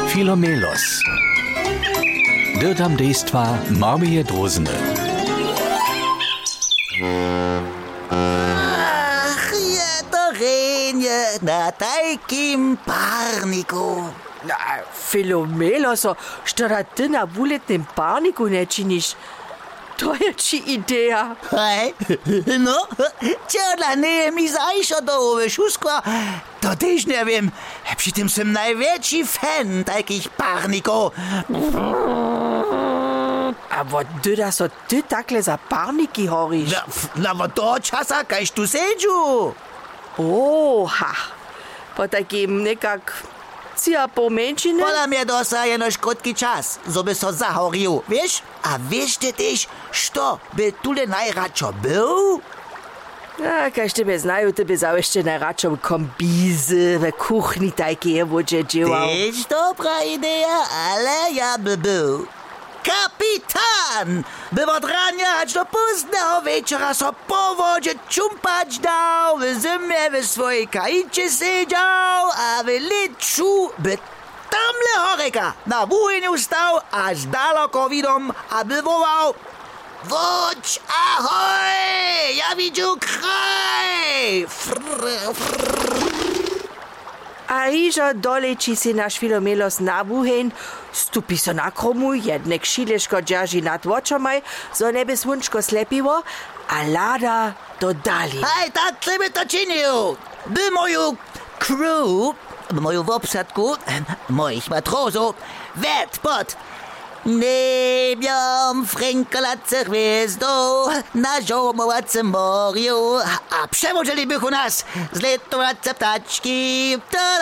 Filomelos. Dirtam dejstva Marmije Drozene. Ach, je to renje na tajkim parniku. Filomeloso, što da ty na wuletnym parniku ne činiš? To je ci ideja. Hej, no, ciela nie mi zajšo do ove šusko, to też nie wiem. Przy tym sam największy fan takich parnikov. A wo da so ty takle za parniki horiš? Na od toho časa, kajž tu sedžu. Oha, po takim nekak cia pomenšine? Podľa mňa dosa jenož krótky čas, zo by so zahoril, vieš? A vieš ty tyž, što by tule najradšo byl? A kaž tebe znajú, tebe zawešte najradšo kombízy v kuchni také vodže džival. Tyž dobrá idea, ale ja by byl kapitán! By od rania až do pozdného večera so po vodže čumpať dal, v zime v svojej kajiče sedel a v liču by tamle horeka na vúheniu stal až daleko vidom a by volal: Voď, ahoj, ja vidím kraj! A ižo dolečí si náš Filomelos na vúheň, stupí so na kromu, jednek šileško džaži nad očomaj, zo nebe slunčko slepivo, a láda do dali. Hej, tak by to činil. By moju crew, moju obsadku, mojich matrozov, ved pod nebiom frękalace hviezdo na žomovacem moriu a převodili bych u nás zletovace ptačky.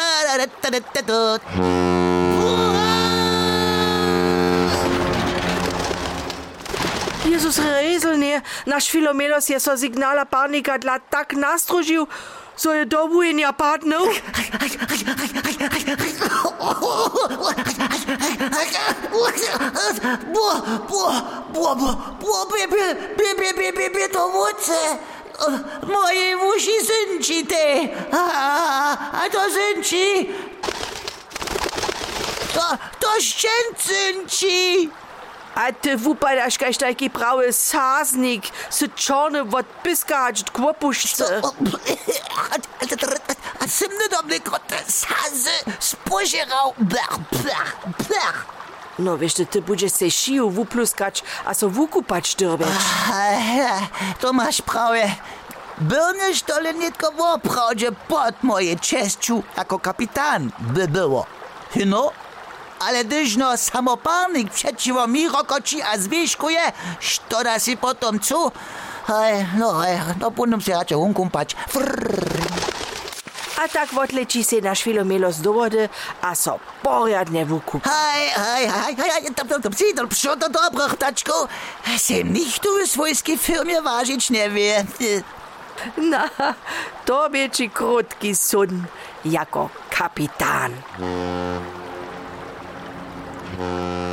Jezus rezelnie, naš Filomelos je so signala parnika dla tak nastrožił, so je do vúhenia padnul. To vodce. Moje uši zynčite. A to zynči. To ščen zynči. A ty wupadaš kaž taki prawy saznik, z czarny wod pyskać w kłopuszce. A jsem nedomny kote sazy spožeral. No wiesz, ty budeš se šiju wupluskać, a so wukupać dyrbeć. To masz prawie. Był niż to lenitko w oprawdzie pod moje czeszczu jako kapitan by było. No? Ale gdyż no samoparnik przeciwko mi rokoci a zwieszkuje, što da si potom co? No budem się raczej umkumpać. A tak odleci se naš Filomelos do wody, a so poriadne wukup. Co to dobro, ptaczko? Sem nicht tu w swojskiej firmie ważyć nie wie. Na, to bie ci krótki sun, jako kapitan.